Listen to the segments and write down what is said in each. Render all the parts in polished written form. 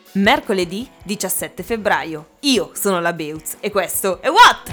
Mercoledì 17 febbraio. Io sono la Beuz e questo è What?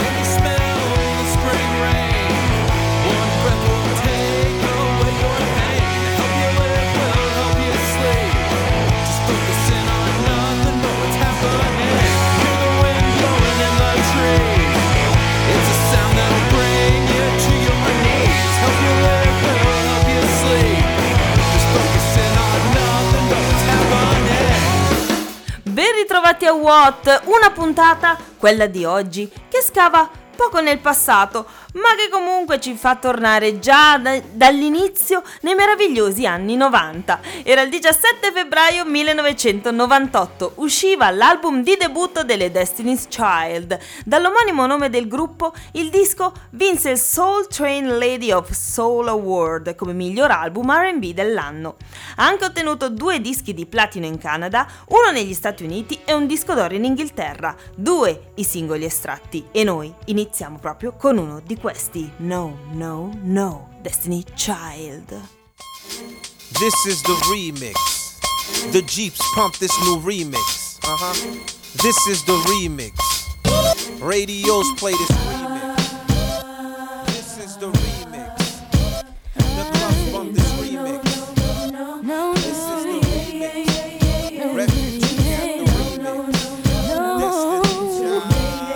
Ben ritrovati a What, una puntata, quella di oggi, che scava poco nel passato, ma che comunque ci fa tornare già dall'inizio nei meravigliosi anni 90. Era il 17 febbraio 1998, usciva l'album di debutto delle Destiny's Child. Dall'omonimo nome del gruppo, il disco vinse il Soul Train Lady of Soul Award come miglior album R&B dell'anno. Ha anche ottenuto 2 dischi di platino in Canada, uno negli Stati Uniti e un disco d'oro in Inghilterra, 2 i singoli estratti, e noi iniziamo proprio con uno di questi. No, no, no, Destiny Child. This is the remix. The Jeeps pump this new remix. This is the remix. Radios play this remix. This is the remix. The clubs bump this remix. This is the remix. Refugees get the remix. Destiny Child.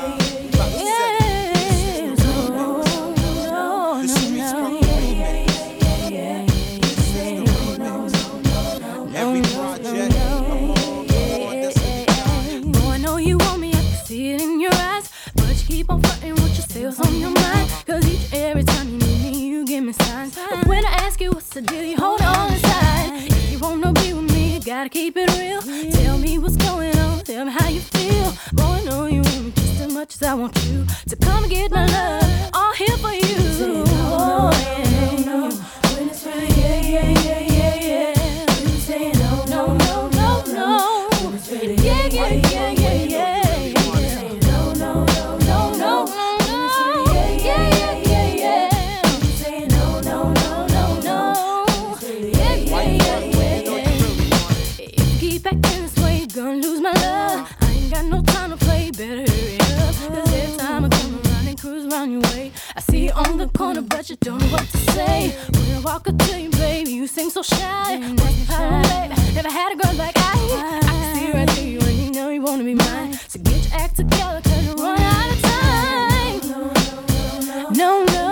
On your mind, cause each every time you need me, you give me signs. But when I ask you what's the deal, you hold on inside. If you wanna be with me, you gotta keep it real. Tell me what's going on, tell me how you feel. Boy, I know you want me just as much as I want you to come and get my love, all here for you. Oh, yeah, no, when it's right, yeah. You say no, no, no, no, no. When it's ready, yeah. Gonna lose my love. I ain't got no time to play. Better hurry up. Cause every time I come around and cruise around your way, I see you on the corner, but you don't know what to say. When I walk up to you, baby, you seem so shy. What's the problem, baby? Never had a girl like I can see right through you, and you know you wanna be mine. So get your act together, cause you're running out of time. No, no.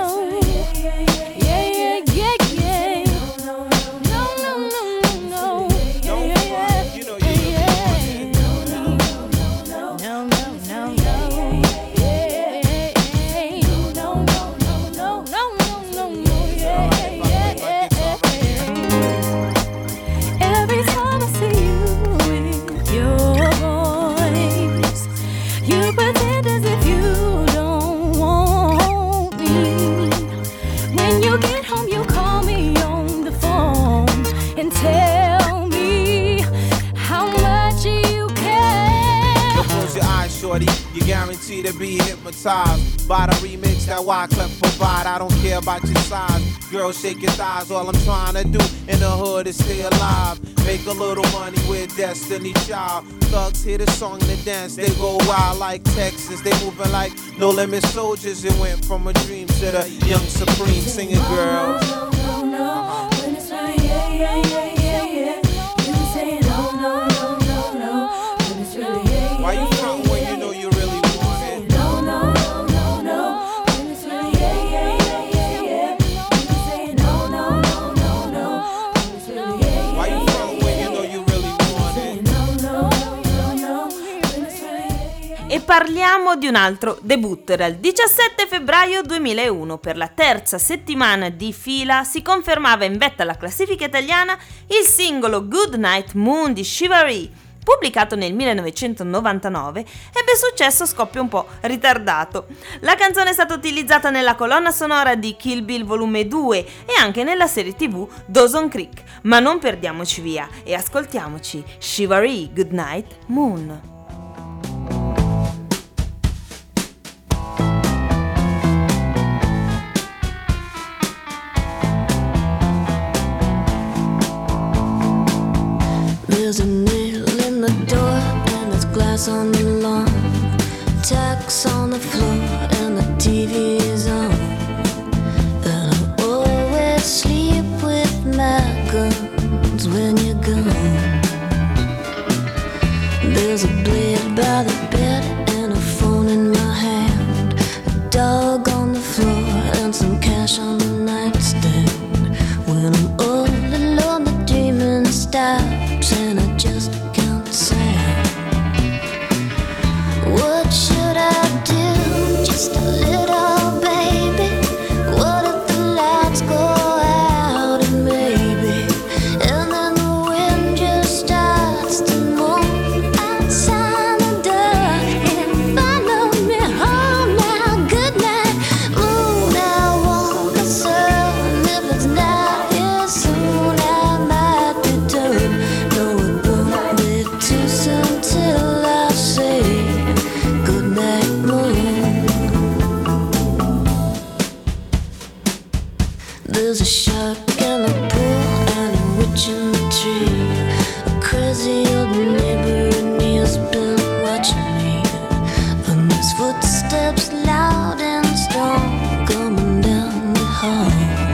You're guaranteed to be hypnotized by the remix that Wyclef provide. I don't care about your size. Girl, shake your thighs. All I'm trying to do in the hood is stay alive. Make a little money with Destiny Child. Thugs hear the song and the dance. They go wild like Texas. They moving like No Limit Soldiers. It went from a dream to the young supreme singing girls. No, when it's right, yeah. You say no. When it's really, yeah. Why you front when you know you really want it? No. When it's really, yeah. You say no. When it's really, yeah. Why you front when you know you really want it? No. When it's really, yeah. E parliamo di un altro debutto. Era il 17 febbraio 2001. Per la terza settimana di fila si confermava in vetta alla classifica italiana il singolo Good Night Moon di Shiva-Ree. Pubblicato nel 1999, ebbe successo a scoppio un po' ritardato. La canzone è stata utilizzata nella colonna sonora di Kill Bill Volume 2 e anche nella serie TV Dawson's Creek, ma non perdiamoci via e ascoltiamoci Shiva-Ree Good Night Moon. There's a nail in the grass on the lawn, tacks on the floor, and the TV is on. And I always sleep with my guns when you're gone. There's a blade by the bed and a phone in my hand, a dog on the floor and some cash on the nightstand. When I'm all alone, the dreaming stops and I just count sand. What should I do? Just a little baby. What if the lights go out and maybe, and then the wind just starts to moan outside the door and follow me home now. Good night, moon. I want the sun. If it's not here soon, I might be done. No, it won't be too soon till I say good night, moon. There's a shark in the pool and a witch in the tree, a crazy old neighbor and he's been watching me. And there's footsteps loud and strong coming down the hall.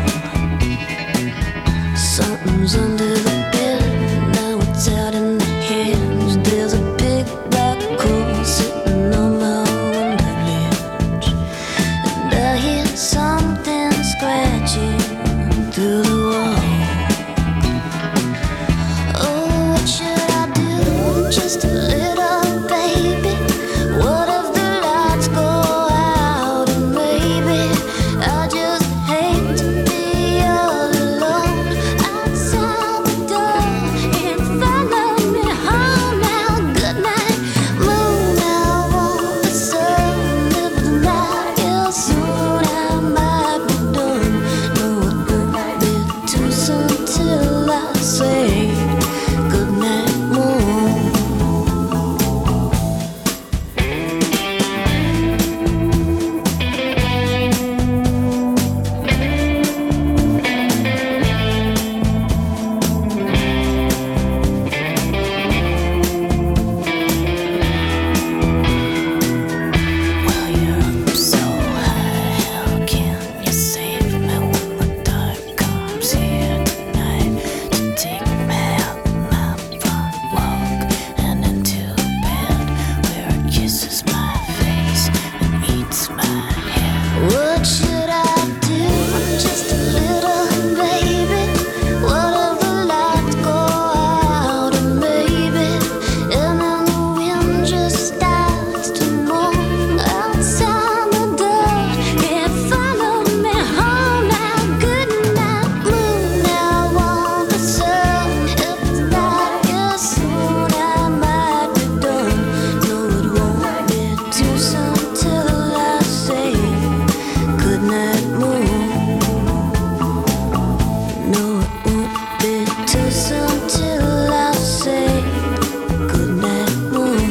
Something's under the bed, now it's out in the hedge. There's a big black hole sitting on my window ledge, and I hear something scratching through the wall. Oh, what should I do? Just a little baby. What if the lights go out and maybe I just hate to be all alone outside the door and follow me home now. Good night, moon. I want the sun. If it's not here soon, I might be done. No, it won't be too soon till I say good night, moon. Well, you're up so high, how can you save me when the dark comes here tonight to take me out my front walk and into bed where it kisses my face and eats my head? What should I do? Just a little baby. What if the lights go out and maybe, and then the wind just starts to moan outside the door and follow me home now. Good night, moon. I want the sun. If it's not here soon, I might be done. No, it won't be too soon till I say good night, moon. No, it won't be too soon till I say good night, moon.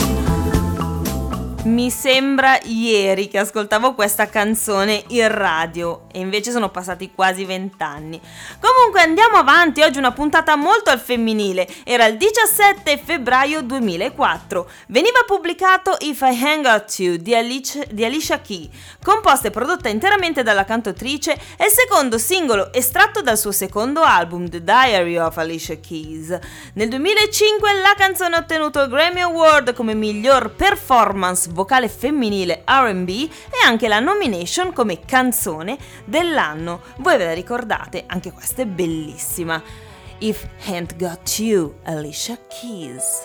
Mi sembra ieri che ascoltavo questa canzone in radio e invece sono passati quasi 20 anni. Comunque andiamo avanti, oggi una puntata molto al femminile. Era il 17 febbraio 2004. Veniva pubblicato If I Hang Out You di Alicia Keys, composta e prodotta interamente dalla cantautrice, è il secondo singolo estratto dal suo secondo album The Diary of Alicia Keys. Nel 2005 la canzone ha ottenuto il Grammy Award come miglior performance vocale femminile R&B e anche la nomination come canzone dell'anno. Voi ve la ricordate? Anche questa è bellissima. If Ain't Got You, Alicia Keys.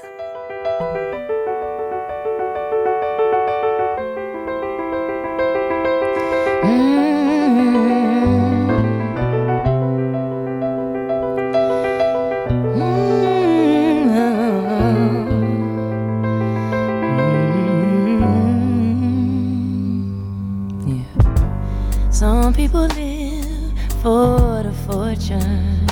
Some people live for the fortune.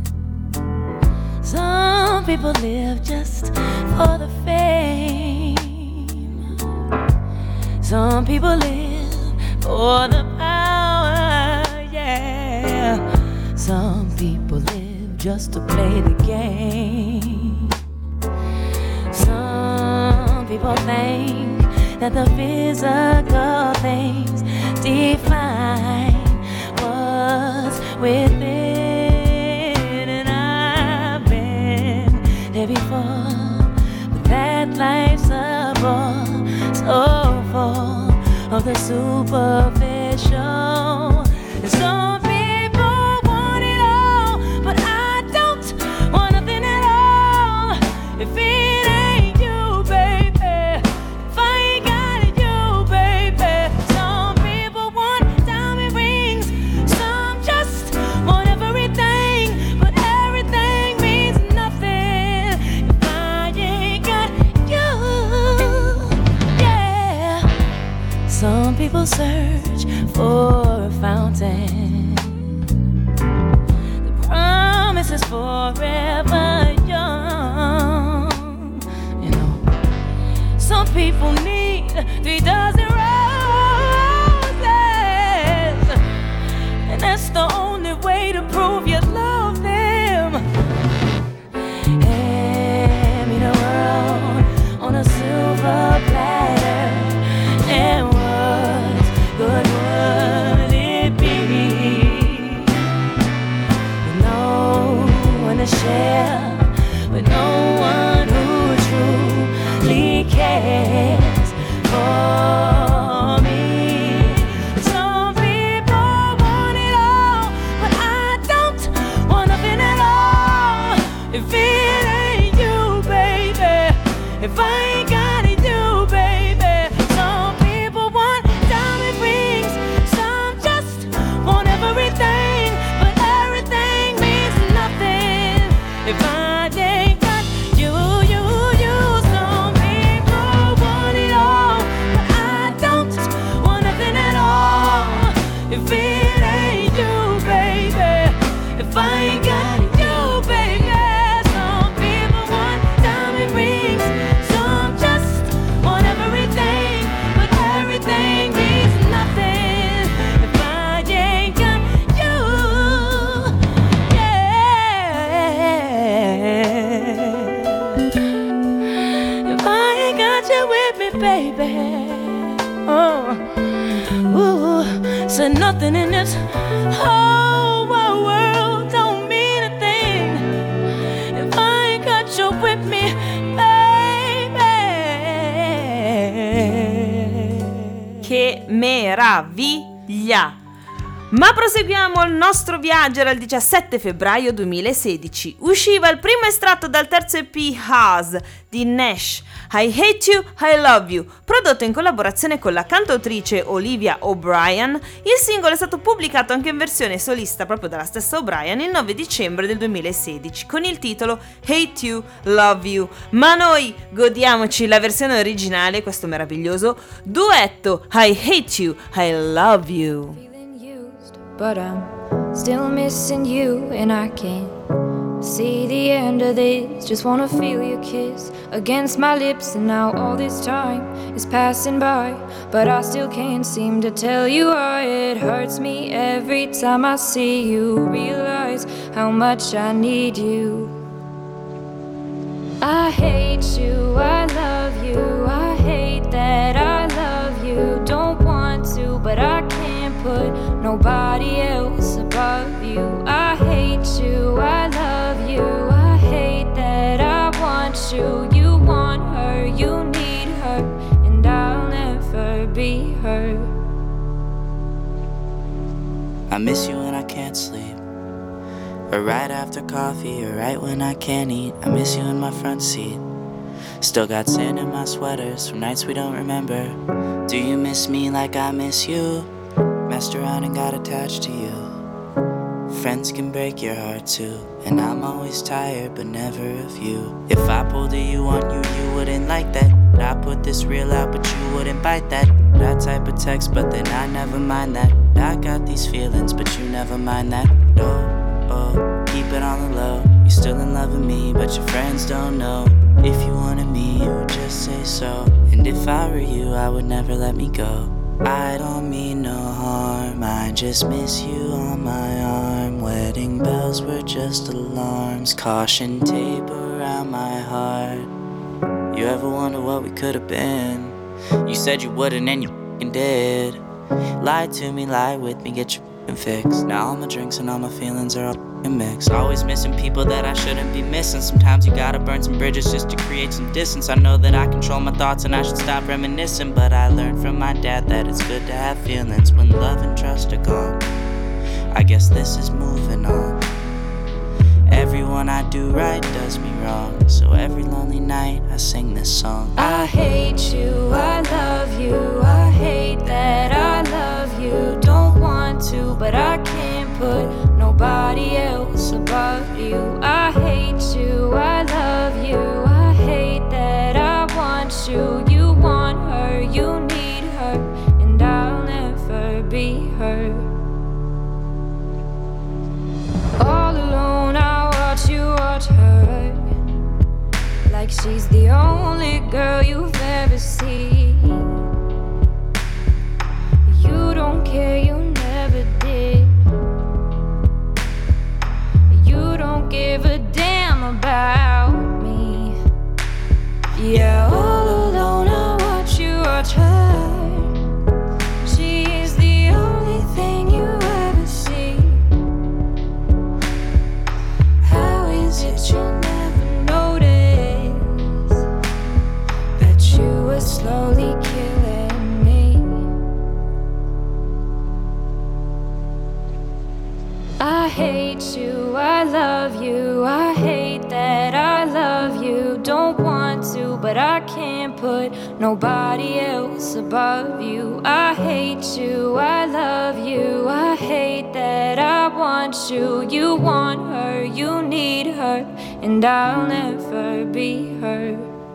Some people live just for the fame. Some people live for the power, yeah. Some people live just to play the game. Some people think that the physical things define what's within, and I've been there before, but that life's a bore, so full of the superficial. And some people want it all, but I don't want nothing at all. If it ain't you, baby, if I ain't got it, you, baby. Some people want diamond rings, some just want everything, but everything means nothing if I ain't got you. Yeah. Some people search for a fountain. The promise is forever young. You know, some people need 3 dozen roses, and that's the only way to prove you love them. Hand me the world on a silver platter, and what good would it be with no one to share, with no one who truly cares for me? Some people want it all, but I don't want nothing at all. If it ain't you, baby, if I ain't got it, you, baby. Some people want diamond rings, some just want everything, but everything means nothing if I ain't got you, you, you. Some people want it all, but I don't want nothing at all. If it ain't you, baby, if I ain't got you, baby. Some people want diamond rings, some just want everything, but everything means nothing if I ain't got you. Yeah. If I ain't got you with me, baby. Oh, ooh, so nothing in this whole wide world don't mean a thing if I ain't got you with me, baby. Che meraviglia! Ma proseguiamo il nostro viaggio. Era il 17 febbraio 2016. Usciva il primo estratto dal terzo EP Haas di Nash, I Hate You, I Love You, prodotto in collaborazione con la cantautrice Olivia O'Brien. Il singolo è stato pubblicato anche in versione solista proprio dalla stessa O'Brien il 9 dicembre del 2016 con il titolo Hate You, Love You. Ma noi godiamoci la versione originale, questo meraviglioso duetto I Hate You, I Love You. But I'm still missing you, and I can't see the end of this. Just wanna feel your kiss against my lips, and now all this time is passing by, but I still can't seem to tell you why. It hurts me every time I see you, realize how much I need you. I hate you, I love you, I hate that I love you. Don't want to, but I can't put nobody else above you. I hate you, I love you, I hate that I want you. You want her, you need her, and I'll never be her. I miss you when I can't sleep, or right after coffee, or right when I can't eat. I miss you in my front seat. Still got sand in my sweaters from nights we don't remember. Do you miss me like I miss you? Messed around and got attached to you. Friends can break your heart too, and I'm always tired but never of you. If I pulled a you on you, you wouldn't like that. I put this reel out but you wouldn't bite that. That type of text, but then I never mind that. I got these feelings but you never mind that. Oh, keep it on the low. You're still in love with me but your friends don't know. If you wanted me, you would just say so. And if I were you, I would never let me go. I don't mean no harm, I just miss you on my arm. Wedding bells were just alarms, caution tape around my heart. You ever wonder what we could have been? You said you wouldn't and you f***ing did. Lie to me, lie with me, get your f***ing fix. Now all my drinks and all my feelings are all f***ing mixed. Always missing people that I shouldn't be missing. Sometimes you gotta burn some bridges just to create some distance. I know that I control my thoughts and I should stop reminiscing, but I learned from my dad that it's good to have feelings when love and trust are gone. I guess this is moving on. Everyone I do right does me wrong, so every lonely night I sing this song. I hate you, I love you, I hate that I love you. Don't want to, but I can't put nobody else above you. I hate you, I love you, I hate that I want you. You want her, you need her, and I'll never be her. All alone I watch you watch her, like she's the only girl you've ever seen. You don't care, you never did. You don't give a damn about me. Yeah, all alone I watch you watch her. She is the only thing you ever see. How is it you never notice that you were slowly killing me? I hate you, I love you, I hate that I love you. Don't want to, but I can't put nobody else above you. I hate you, I love you, I hate that I want you. You want her, you need her, and I'll never be her.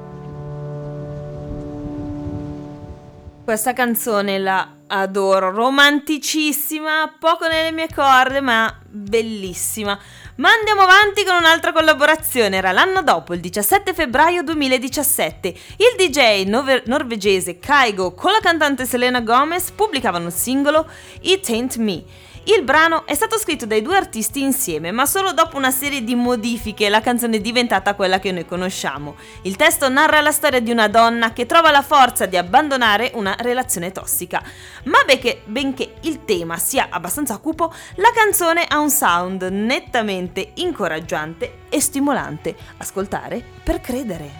Questa canzone la adoro, romanticissima, poco nelle mie corde, ma bellissima. Ma andiamo avanti con un'altra collaborazione. Era l'anno dopo, il 17 febbraio 2017. Il DJ norvegese Kygo con la cantante Selena Gomez pubblicavano il singolo It Ain't Me. Il brano è stato scritto dai due artisti insieme, ma solo dopo una serie di modifiche la canzone è diventata quella che noi conosciamo. Il testo narra la storia di una donna che trova la forza di abbandonare una relazione tossica. Ma benché il tema sia abbastanza cupo, la canzone ha un sound nettamente incoraggiante e stimolante. Ascoltare per credere.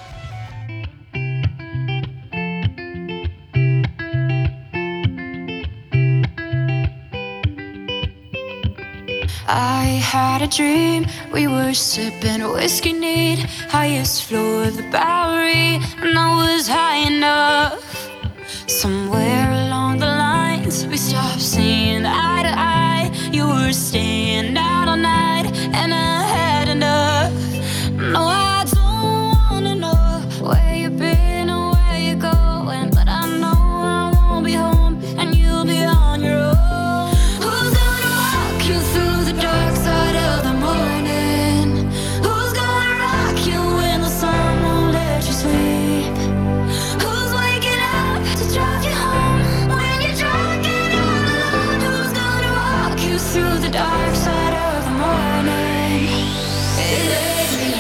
I had a dream, we were sipping whiskey neat, highest floor of the Bowery, and I was high enough. Somewhere along the lines, we stopped seeing eye to eye. You were staying out all night, and I had enough. No, I don't wanna know where you've been or where you're going, but I know I won't be home, and you'll be on your own. Who's gonna walk you through the dark side of the morning? Who's gonna rock you when the sun won't let you sleep? Who's waking up to drive you home when you're drunk and all alone? Who's gonna walk you through the dark side of the morning? It ain't me.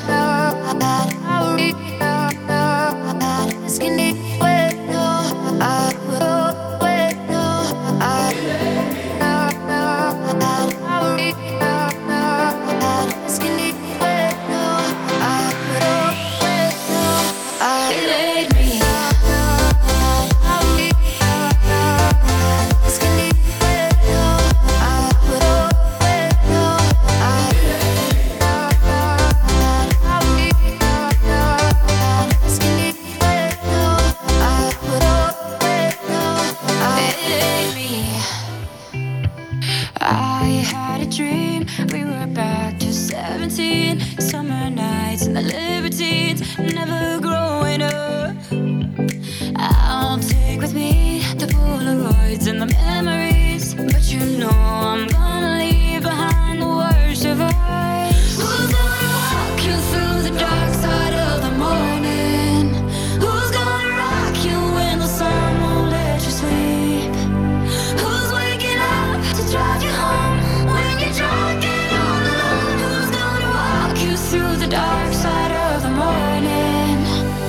I had a dream, we were back to 17, summer nights and the libertines, never growing up. I'll take with me the Polaroids and the memories, but you know I'm gonna leave behind the worst of us. Who's gonna walk you through the dark side of the morning? Who's gonna rock you when the sun won't let you sleep? Who's waking up to drive you home when you're drunk and all alone? Who's gonna walk you through the dark side of the morning?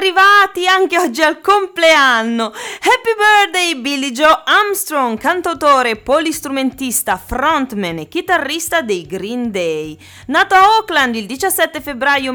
arrivati anche oggi al compleanno. Happy birthday Billie Joe Armstrong, cantautore, polistrumentista, frontman e chitarrista dei Green Day. Nato a Oakland il 17 febbraio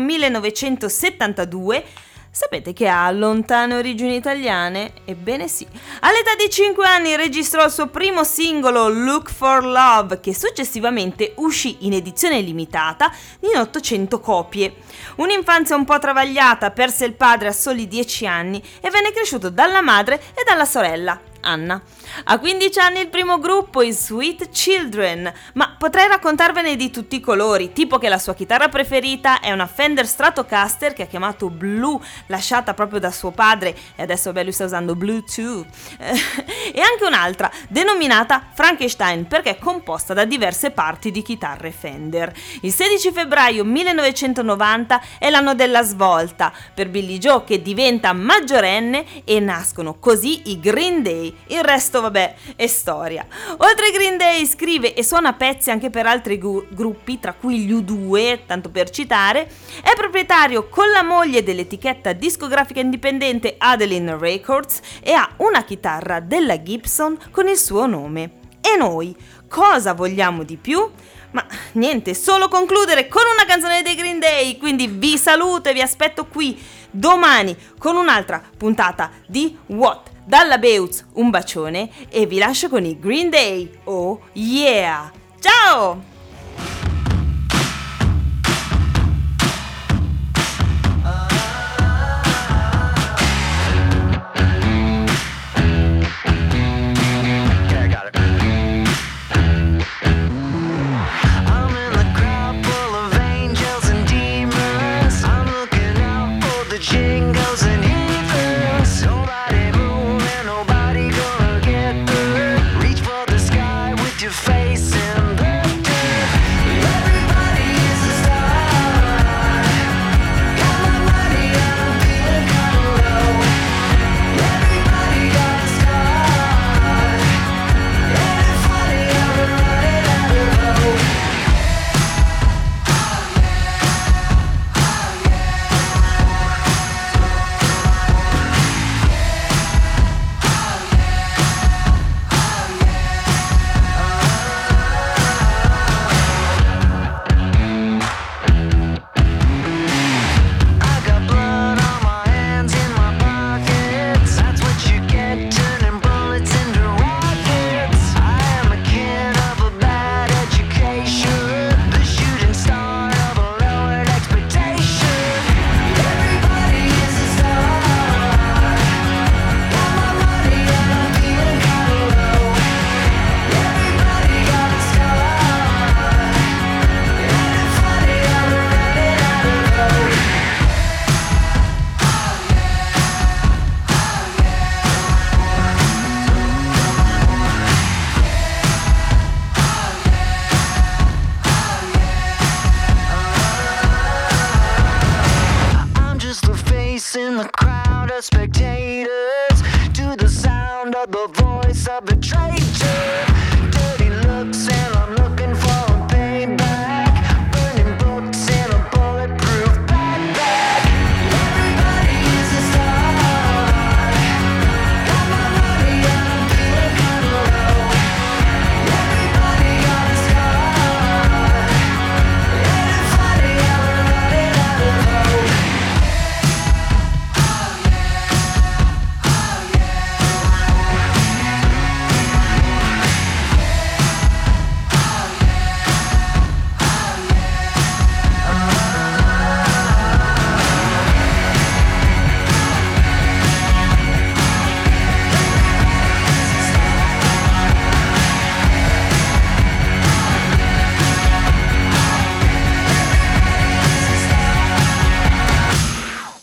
1972, sapete che ha lontane origini italiane? Ebbene sì. All'età di 5 anni registrò il suo primo singolo Look for Love, che successivamente uscì in edizione limitata in 800 copie. Un'infanzia un po' travagliata, perse il padre a soli 10 anni e venne cresciuto dalla madre e dalla sorella, Anna. A 15 anni il primo gruppo, i Sweet Children, ma potrei raccontarvene di tutti i colori, tipo che la sua chitarra preferita è una Fender Stratocaster che ha chiamato Blue, lasciata proprio da suo padre, e adesso lui sta usando Blue too, e anche un'altra denominata Frankenstein perché è composta da diverse parti di chitarre Fender. Il 16 febbraio 1990 è l'anno della svolta per Billie Joe, che diventa maggiorenne e nascono così i Green Day. Il resto vabbè è storia. Oltre ai Green Day scrive e suona pezzi anche per altri gruppi, tra cui gli U2, tanto per citare. È proprietario con la moglie dell'etichetta discografica indipendente Adeline Records e ha una chitarra della Gibson con il suo nome. E noi cosa vogliamo di più? Ma niente, solo concludere con una canzone dei Green Day. Quindi vi saluto e vi aspetto qui domani con un'altra puntata di What? Dalla Beutz un bacione e vi lascio con i Green Day. Oh yeah! Ciao! In the crowd of spectators, to the sound of the voice of the